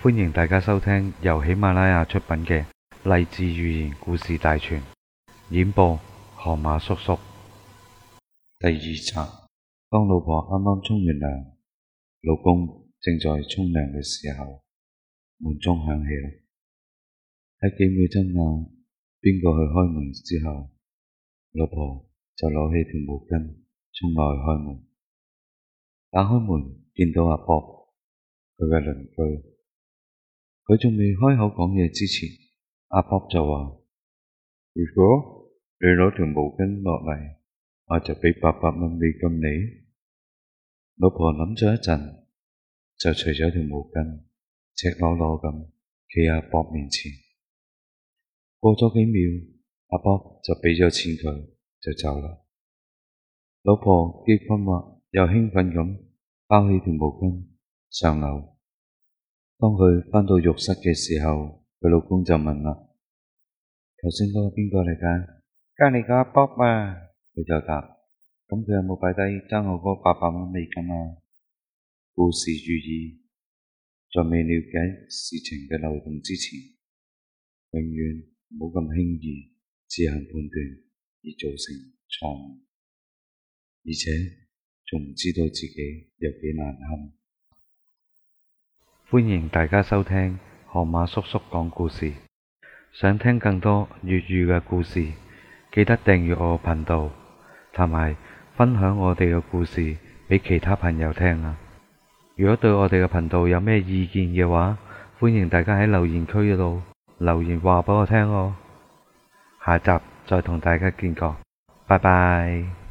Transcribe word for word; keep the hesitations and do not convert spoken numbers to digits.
歡迎大家收聽由喜馬拉雅出品嘅勵志寓言故事大全，演播河馬叔叔。第二集，當老婆啱啱沖完涼，老公正在沖涼嘅時候，門鐘響起啦。喺幾秒爭拗邊個去開門之後，老婆就攞起條毛巾沖落去開門。打開門見到阿博，佢嘅鄰居。佢仲未開口講嘢之前，阿博就話：如果你攞條毛巾落嚟，我就俾八百蚊美金你。老婆諗咗一陣，就除咗條毛巾，赤裸裸咁企喺阿博面前。過咗幾秒，阿博就俾咗錢佢，就走啦。老婆既困惑又興奮咁包起條毛巾上樓。當佢返到浴室嘅時候，佢老公就問啦：頭先嗰個邊個嚟㗎？隔離個阿博啊！佢就答：咁佢有冇擺低爭我嗰八百蚊美金啊？故事寓意，在未了解事情嘅漏洞之前，永遠唔好咁輕易自行判斷而造成錯誤，而且仲唔知道自己有幾難堪。歡迎大家收聽河馬叔叔講故事。想聽更多粵語嘅故事，記得訂閱我個頻道，同埋分享我哋嘅故事俾其他朋友聽啊！如果對我哋嘅頻道有咩意見嘅話，歡迎大家喺留言區嗰度留言話俾我聽哦。下集再同大家見過，拜拜。